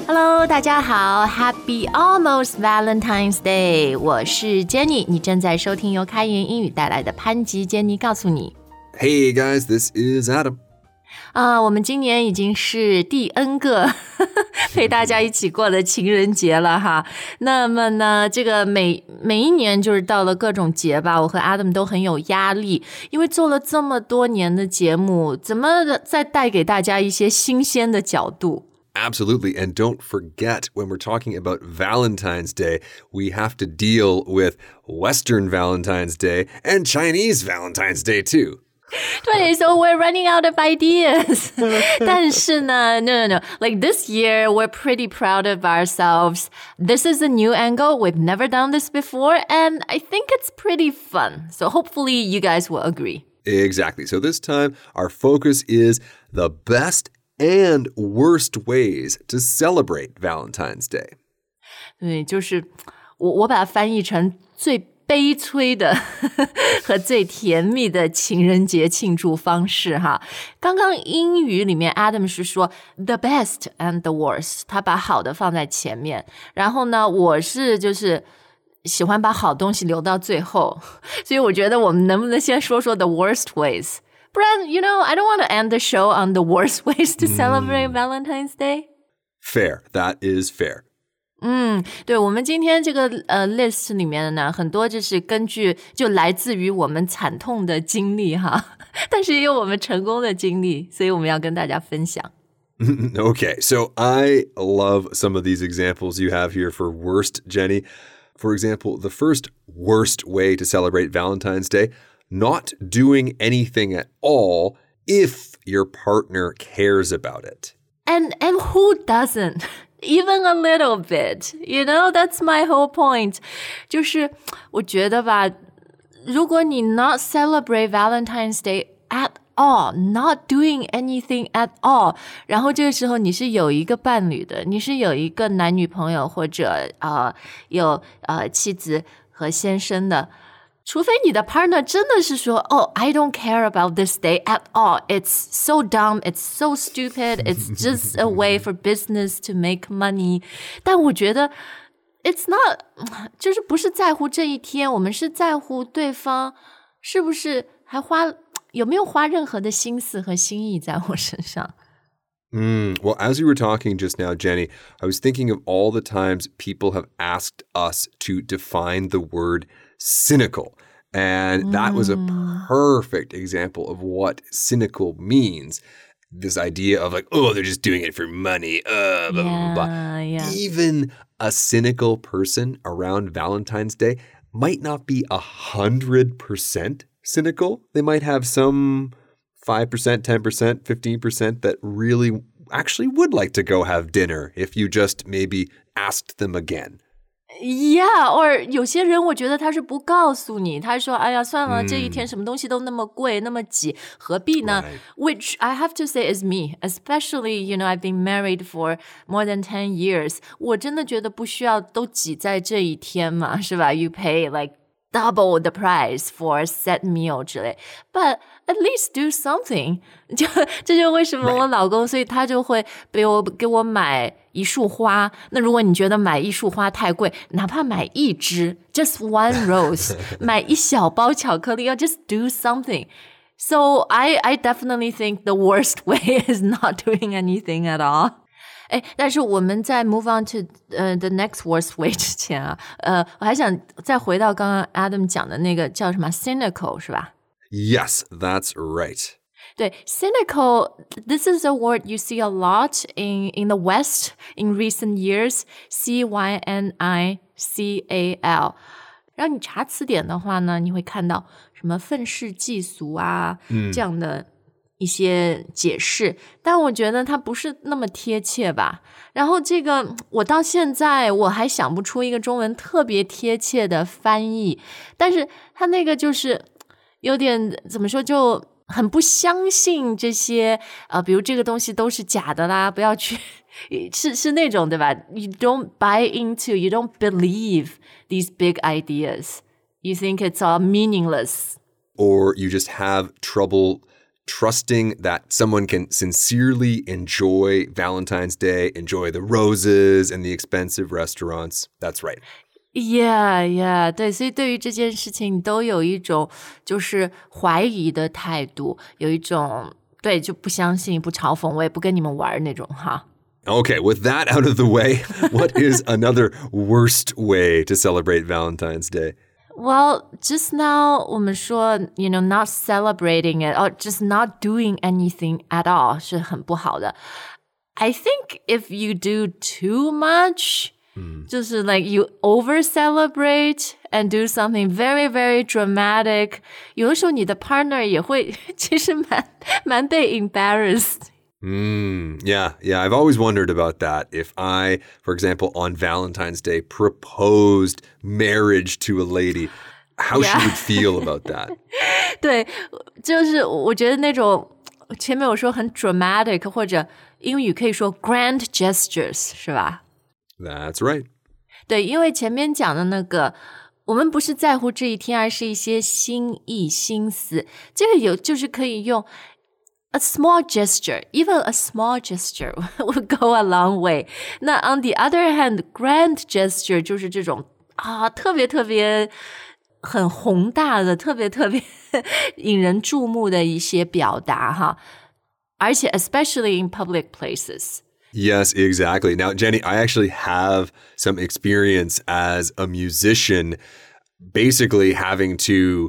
Hello， 大家好 ，Happy Almost Valentine's Day， 我是 Jenny， 你正在收听由开言英语带来的潘吉 Jenny 告诉你。 Hey guys, this is Adam. 我们今年已经是第 N 个陪大家一起过的情人节了哈。那么呢，这个每一年就是到了各种节吧，我和 Adam 都很有压力，因为做了这么多年的节目，怎么再带给大家一些新鲜的角度 Absolutely. And don't forget, when we're talking about Valentine's Day, we have to deal with Western Valentine's Day and Chinese Valentine's Day too. 对 so we're running out of ideas. 但是呢 no. Like this year, we're pretty proud of ourselves. This is a new angle. We've never done this before, and I think it's pretty fun. So hopefully you guys will agree. Exactly. So this time, our focus is the best and worst ways to celebrate Valentine's Day. 对，就是我把它翻译成最悲催的和最甜蜜的情人节庆祝方式哈。刚刚英语里面 Adam 是说 the best and the worst， 他把好的放在前面，然后呢我是就是喜欢把好东西留到最后，所以我觉得我们能不能先说说 the worst ways？不然 you know, I don't want to end the show on the worst ways to celebrate Valentine's Day. Fair. That is fair. 对，我们今天这个list 里面呢，很多就是就来自于我们惨痛的经历哈，但是也有我们成功的经历，所以我们要跟大家分享。 Okay, so I love some of these examples you have here for worst, Jenny. For example, the first worst way to celebrate Valentine's Day, not doing anything at all if your partner cares about it. And who doesn't? Even a little bit, you know, that's my whole point. 就是我觉得吧，如果你 not celebrate Valentine's Day at all, not doing anything at all, 然后这个时候你是有一个伴侣的，你是有一个男女朋友或者有妻子和先生的，除非你的 partner 真的是说I don't care about this day at all. It's so dumb. It's so stupid. It's just a way for business to make money. 但我觉得 it's not 就是不是在乎这一天，我们是在乎对方是不是还有没有花任何的心思和心意在我身上。 Well, as you were talking just now, Jenny, I was thinking of all the times people have asked us to define the word cynical. And that was a perfect example of what cynical means. This idea of like, oh, they're just doing it for money. Blah, blah, blah. Yeah. Even a cynical person around Valentine's Day might not be 100% cynical. They might have some 5%, 10%, 15% that really actually would like to go have dinner if you just maybe asked them again. Yeah, or 有些人我觉得他是不告诉你，他说哎呀算了，这一天什么东西都那么贵那么挤，何必呢？ Which I have to say is me, especially, you know, I've been married for more than 10 years. 我真的觉得不需要都挤在这一天嘛，是吧？ You pay like double the price for a set meal 之类 But at least do something. 这就为什么我老公所以他就会给我买一束花，那如果你觉得买一束花太贵，哪怕买一支 just one rose 买一小包巧克力 just do something. So I definitely think the worst way is not doing anything at all. 但是我们在 move on to the next worst way 之前啊，我还想再回到刚刚 Adam 讲的那个叫什么 cynical 是吧？ Yes, that's right. 对 cynical, this is a word you see a lot in the West in recent years. C-Y-N-I-C-A-L. 然后你查词典的话呢，你会看到什么愤世嫉俗啊，这样的一些解释，但我觉得它不是那么贴切吧。然后这个我到现在我还想不出一个中文特别贴切的翻译，但是它那个就是有点怎么说，就很不相信这些比如这个东西都是假的啦，不要去是那种对吧？ You don't buy into, you don't believe these big ideas. You think it's all meaningless. Or you just have trouble trusting that someone can sincerely enjoy Valentine's Day, enjoy the roses and the expensive restaurants. That's right. Yeah, 对，所以对于这件事情，你都有一种就是怀疑的态度，有一种对就不相信、不嘲讽，我也不跟你们玩那种哈。 Okay, with that out of the way, what is another worst way to celebrate Valentine's Day? Well, just now 我们说 not celebrating it or just not doing anything at all 是很不好的。I think if you do too much, 就是 like you over celebrate and do something very, very dramatic, 有的时候你的 partner 也会其实蛮被 embarrassed.Yeah, I've always wondered about that. If I, for example, on Valentine's Day proposed marriage to a lady, how she would feel about that. 对，就是我觉得那种前面我说很 dramatic 或者英语可以说 grand gestures 是吧？ That's right. 对，因为前面讲的那个我们不是在乎这一天，而是一些心意心思，这个就是可以用A small gesture, even a small gesture will go a long way. 那 on the other hand, grand gesture 就是这种特别特别很宏大的、特别特别引人注目的一些表达哈，而且 especially in public places. Yes, exactly. Now, Jenny, I actually have some experience as a musician, basically having to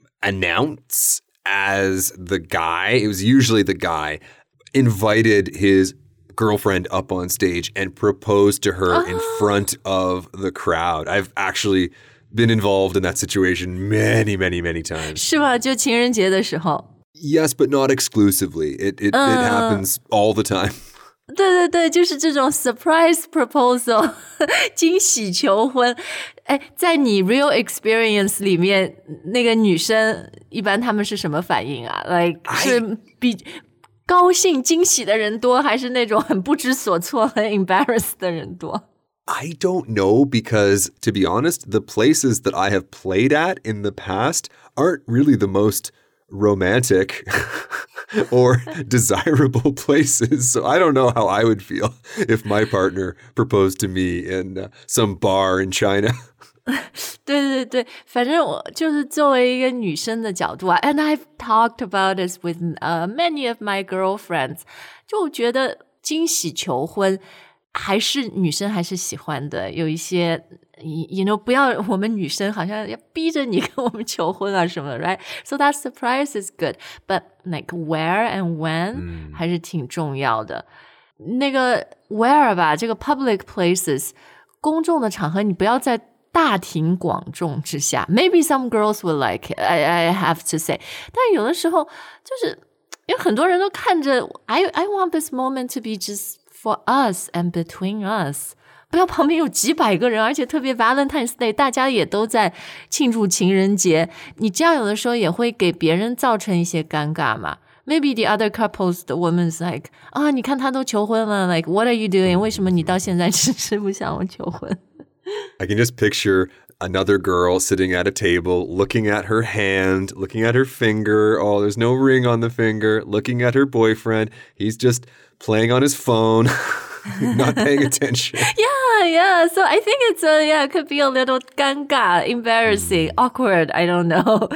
announce as the guy, it was usually the guy, invited his girlfriend up on stage and proposed to her in front of the crowd. I've actually been involved in that situation many, many, many times. 是吗？就情人节的时候 Yes, but not exclusively. It happens all the time. 对，就是这种 surprise proposal 惊喜求婚。哎，在你 real experience 里面，那个女生一般她们是什么反应啊？ Like 是比高兴惊喜的人多，还是那种很不知所措、很 embarrassed 的人多？ I don't know because, to be honest, the places that I have played at in the past aren't really the most romantic or desirable places. So I don't know how I would feel if my partner proposed to me in some bar in China. 对，反正我就是作为一个女生的角度啊 and I've talked about this with many of my girlfriends. 就觉得惊喜求婚还是女生还是喜欢的，有一些不要我们女生好像要逼着你跟我们求婚啊什么的 right? So that surprise is good. But like where and when 还是挺重要的。那个 where 吧，这个 public places 公众的场合你不要在大庭广众之下 Maybe some girls will like it, I have to say. 但有的时候就是因为很多人都看着 I want this moment to be just for us and between us. 不要旁边有几百个人，而且特别 Valentine's Day 大家也都在庆祝情人节，你这样有的时候也会给别人造成一些尴尬嘛。Maybe the other couples, the woman's like, 你看他都求婚了 like, what are you doing? 为什么你到现在迟迟不向我求婚？ I can just picture another girl sitting at a table, looking at her hand, looking at her finger. Oh, there's no ring on the finger. Looking at her boyfriend. He's just playing on his phone, not paying attention. Yeah. So I think it's it could be a little 尴尬, embarrassing, awkward. I don't know.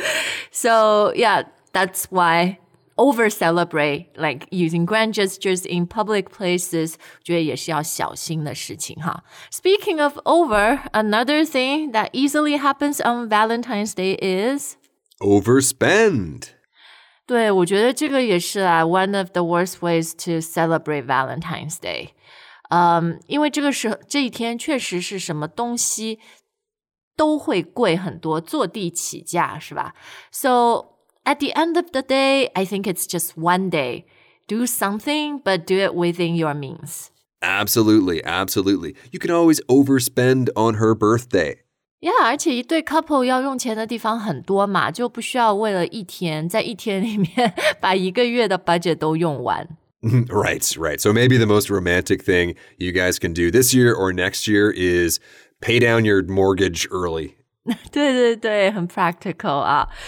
So yeah, that's why over celebrate, like using grand gestures in public places, 觉得也是要小心的事情哈。Speaking of over, another thing that easily happens on Valentine's Day is overspend. 对，我觉得这个也是one of the worst ways to celebrate Valentine's Day. 因为这一天确实是什么东西都会贵很多，坐地起价是吧？ So at the end of the day, I think it's just one day. Do something, but do it within your means. Absolutely. You can always overspend on her birthday. Yeah, 而且一对 couple 要用钱的地方很多嘛，就不需要为了一天，在一天里面把一个月的 budget 都用完。 Right. So maybe the most romantic thing you guys can do this year or next year is pay down your mortgage early. 对，很 practical 啊。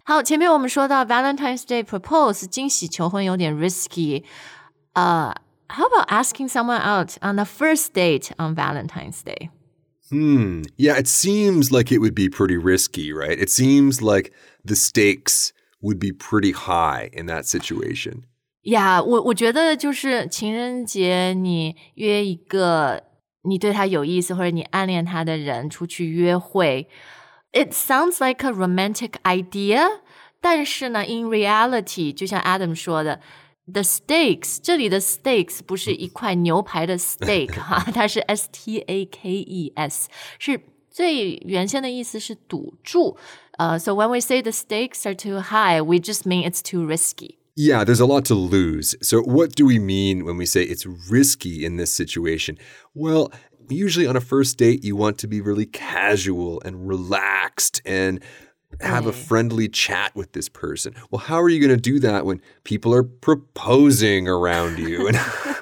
好，前面我们说到 Valentine's Day propose 惊喜求婚有点 risky. How about asking someone out on the first date on Valentine's Day? Yeah, it seems like it would be pretty risky, right? It seems like the stakes would be pretty high in that situation. Yeah, 我觉得就是情人节你约一个你对他有意思或者你暗恋他的人出去约会 It sounds like a romantic idea, 但是呢 in reality 就像 Adam 说的The stakes, 这里的 stakes 不是一块牛排的 steak 哈，它是 S-T-A-K-E-S 是最原先的意思是赌注So when we say the stakes are too high, we just mean it's too risky. Yeah, there's a lot to lose. So what do we mean when we say it's risky in this situation? Well, usually on a first date, you want to be really casual and relaxed and have a friendly chat with this person. Well, how are you going to do that when people are proposing around you?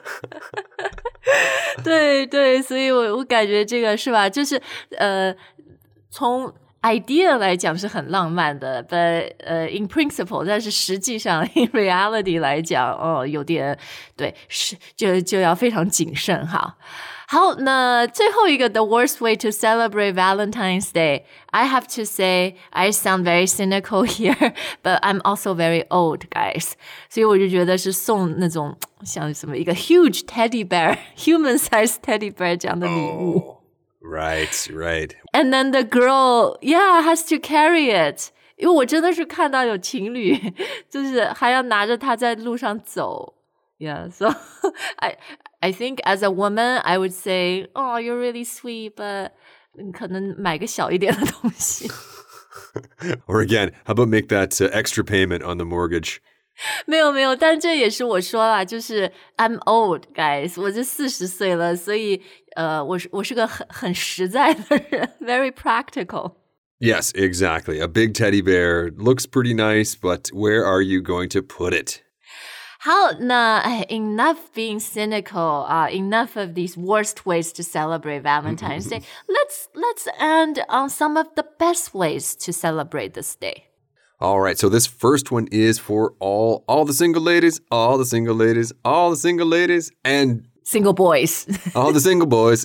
对对，所以我感觉这个是吧，就是从 idea 来讲是很浪漫的 but in principle 但是实际上 in reality 来讲有点对是就要非常谨慎哈。好，那最后一个 the worst way to celebrate Valentine's Day. I have to say I sound very cynical here, but I'm also very old, guys. 所以我就觉得是送那种像什么一个 huge teddy bear, human-sized teddy bear 这样的礼物。 Right. And then the girl, has to carry it. 因为我真的是看到有情侣就是还要拿着它在路上走。Yeah, so I think as a woman, I would say, oh, you're really sweet, but 可能买个小一点的东西。 Or again, how about make that extra payment on the mortgage? 没有，但这也是我说啦，就是 I'm old, guys. 我就40岁了，所以我是个很实在的人 very practical. Yes, exactly. A big teddy bear looks pretty nice, but where are you going to put it? 好，那enough being cynical, enough of these worst ways to celebrate Valentine's Day. Let's end on some of the best ways to celebrate this day. All right, so this first one is for all the single ladies, all the single ladies, all the single ladies, and single boys. all the single boys.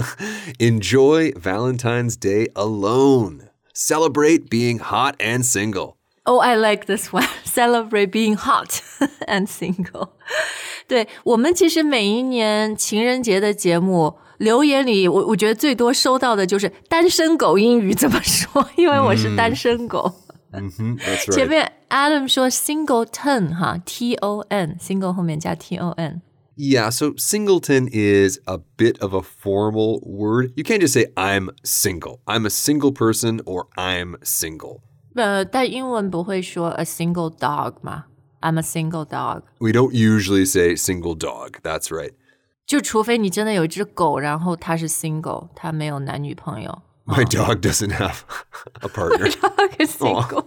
Enjoy Valentine's Day alone. Celebrate being hot and single. Oh, I like this one. Celebrate being hot and single. 对，我们其实每一年情人节的节目留言里我觉得最多收到的就是单身狗英语怎么说，因为我是单身狗。 That's right. 前面 Adam 说 singleton 哈 T-O-N single 后面加 T-O-N Yeah, so singleton is a bit of a formal word. You can't just say I'm single. I'm a single person or I'm single. 但英文不会说 a single dog 吗 I'm a single dog. We don't usually say single dog. That's right. 就除非你真的有一只狗，然后它是 single 它没有男女朋友。 My dog doesn't have a partner. My dog is single.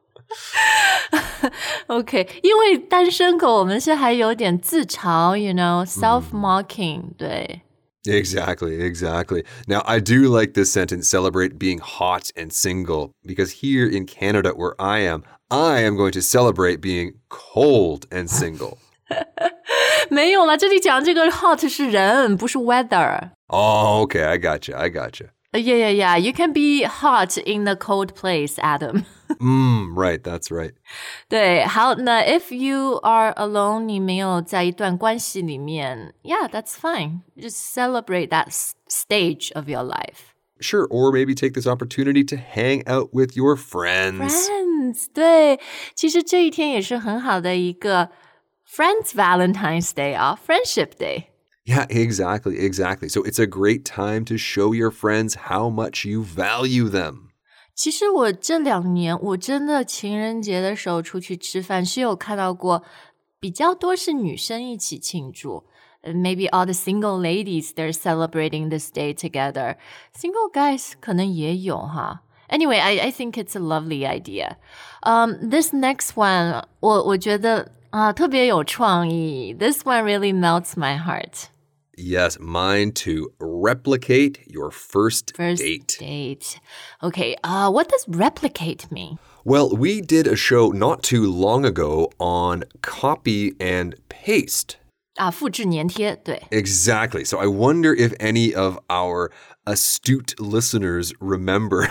OK, 因为单身狗我们是还有点自嘲 you know, self-mocking, 对。 Exactly. Now, I do like this sentence, celebrate being hot and single, because here in Canada where I am going to celebrate being cold and single. 没有啦，这里讲这个 hot 是人，不是 weather. Oh, okay, I gotcha. Yeah. You can be hot in the cold place, Adam. Right, that's right. 对，好，那 if you are alone, 你没有在一段关系里面 Yeah, that's fine. Just celebrate that stage of your life. Sure, or maybe take this opportunity to hang out with your friends. Friends, 对，其实这一天也是很好的一个 Friends Valentine's Day 啊 Friendship Day. Yeah, exactly. So it's a great time to show your friends how much you value them. 其实我这2年我真的情人节的时候出去吃饭是有看到过比较多是女生一起庆祝。Maybe all the single ladies, they're celebrating this day together. Single guys 可能也有哈。Anyway, I think it's a lovely idea. This next one, 我觉得特别有创意。This one really melts my heart. Yes, mine too. Replicate your first date. Okay, what does replicate mean? Well, we did a show not too long ago on copy and paste. 复制粘贴，对。 Exactly. So I wonder if any of our astute listeners remember.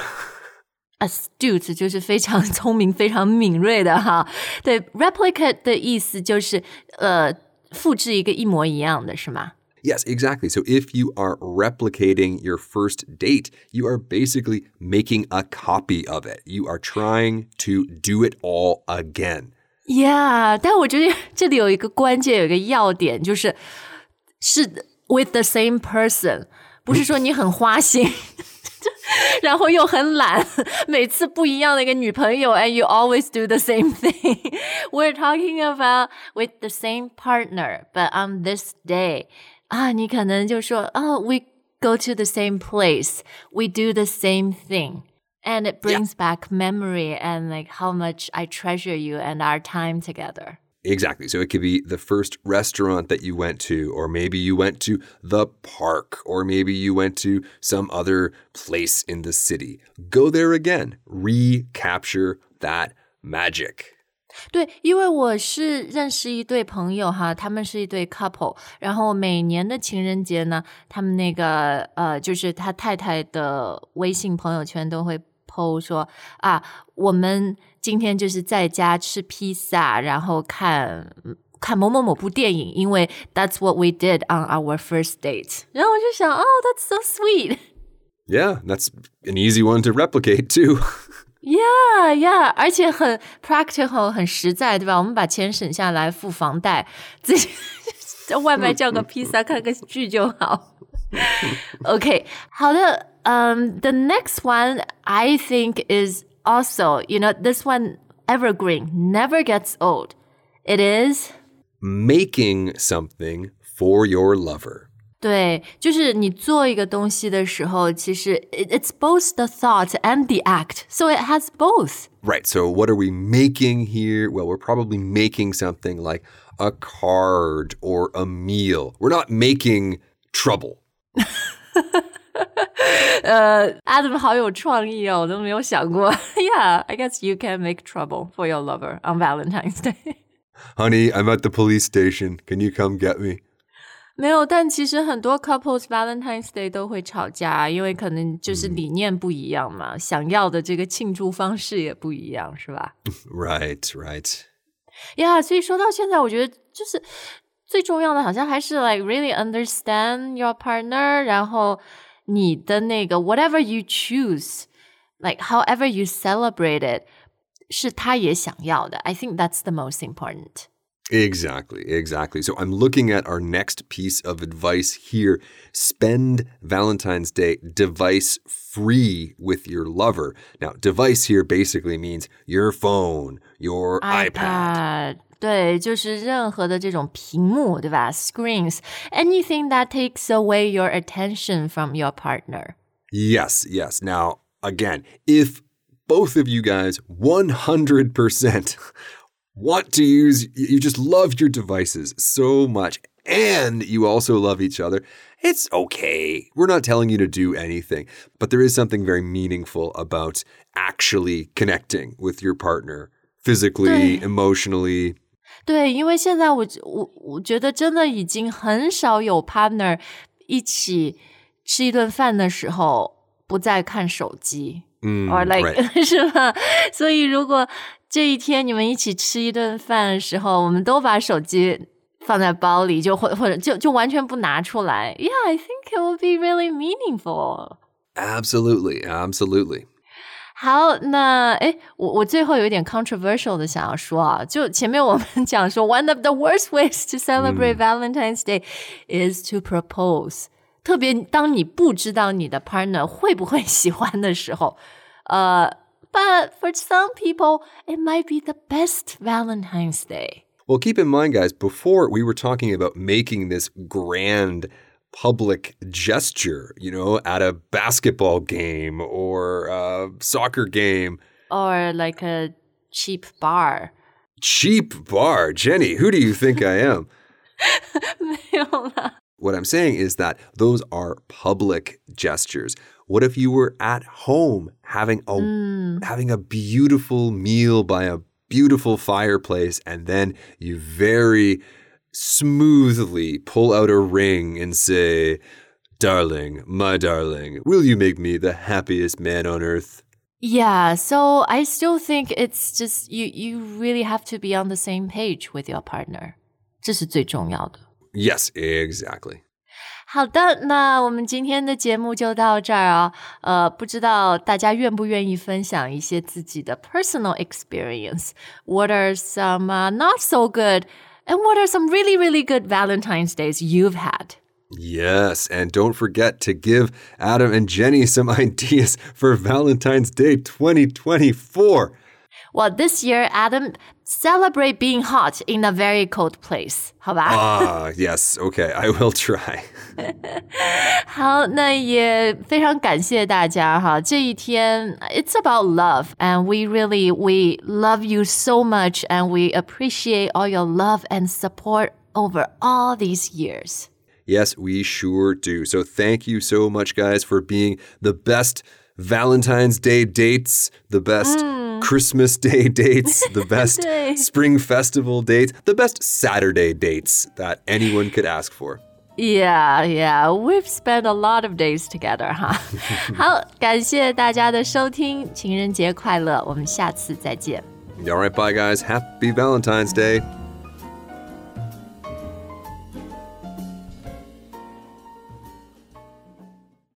Astute 就是非常聪明、非常敏锐的哈。对 ，replicate 的意思就是复制一个一模一样的，是吗？ Yes, exactly. So if you are replicating your first date, you are basically making a copy of it. You are trying to do it all again. Yeah, 但我觉得这里有一个关键，有一个要点，是 with the same person， 不是说你很花心。然后又很懒，每次不一样的一个女朋友 and you always do the same thing. We're talking about with the same partner, but on this day, 你可能就说we go to the same place, we do the same thing. And it brings back memory and like how much I treasure you and our time together. Exactly. So it could be the first restaurant that you went to, or maybe you went to the park, or maybe you went to some other place in the city. Go there again. Recapture that magic. 对，因为我是认识一对朋友哈，他们是一对 couple， 然后每年的情人节呢，他们那个就是他太太的微信朋友圈都会 po 说我们今天就是在家吃披萨，然后看某某某部电影，因为 that's what we did on our first date。然后我就想that's so sweet。 Yeah, that's an easy one to replicate too. Yeah, 而且很 practical， 很实在，对吧？我们把钱省下来付房贷，自己在外卖叫个披萨，看个剧就好。Okay, 好的。The next one I think is also, this one evergreen, never gets old. It is making something for your lover. 对，就是你做一个东西的时候，其实 it's both the thought and the act, so it has both. Right, so what are we making here? Well, we're probably making something like a card or a meal. We're not making trouble. Adam 好有创意哦，我都没有想过。Yeah, I guess you can make trouble for your lover on Valentine's Day. Honey, I'm at the police station. Can you come get me? 没有，但其实很多 couples Valentine's Day 都会吵架，因为可能就是理念不一样嘛，想要的这个庆祝方式也不一样，是吧？ Right. Yeah, 所以说到现在，我觉得就是最重要的好像还是 like really understand your partner， 然后你的那个 whatever you choose, like however you celebrate it, 是他也想要的。I think that's the most important. Exactly. So I'm looking at our next piece of advice here. Spend Valentine's Day device-free with your lover. Now, device here basically means your phone, your iPad. 对，就是任何的这种屏幕，对吧？ Screens, anything that takes away your attention from your partner. Yes. Now, again, if both of you guys 100% want to use, you just love your devices so much, and you also love each other, it's okay. We're not telling you to do anything, but there is something very meaningful about actually connecting with your partner physically, emotionally. 对，因为现在我觉得真的已经很少有 partner 一起吃一顿饭的时候不再看手机。or like right. 是吧？所以如果这一天你们一起吃一顿饭的时候，我们都把手机放在包里，或者就完全不拿出来。Yeah, I think it will be really meaningful. Absolutely. 好，那我最后有一点 controversial 的想要说啊，就前面我们讲说 one of the worst ways to celebrate Valentine's Day is to propose. 特别当你不知道你的 partner 会不会喜欢的时候，but for some people, it might be the best Valentine's Day. Well, keep in mind, guys, before we were talking about making this grand public gesture, at a basketball game or a soccer game. Or like a cheap bar. Cheap bar? Jenny, who do you think I am? 没有啦。 What I'm saying is that those are public gestures. What if you were at home having a beautiful meal by a beautiful fireplace, and then you very smoothly pull out a ring and say, "Darling, my darling, will you make me the happiest man on earth?" Yeah, so I still think it's just you really have to be on the same page with your partner. 这是最重要的。 Yes, exactly. 好的，那我们今天的节目就到这儿啊。不知道大家愿不愿意分享一些自己的 personal experience? What are some not so good, and what are some really, really good Valentine's days you've had? Yes, and don't forget to give Adam and Jenny some ideas for Valentine's Day 2024. Well, this year, Adam, celebrate being hot in a very cold place. 好吧？ Yes, okay, I will try. 好，那也非常感谢大家哈。这一天 it's about love, and we love you so much, and we appreciate all your love and support over all these years. Yes, we sure do. So thank you so much, guys, for being the best Valentine's Day dates, the best Christmas Day dates, the best Spring Festival dates, the best Saturday dates that anyone could ask for. Yeah, we've spent a lot of days together, 哈。好，感谢大家的收听，情人节快乐，我们下次再见。 All right, bye, guys. Happy Valentine's Day.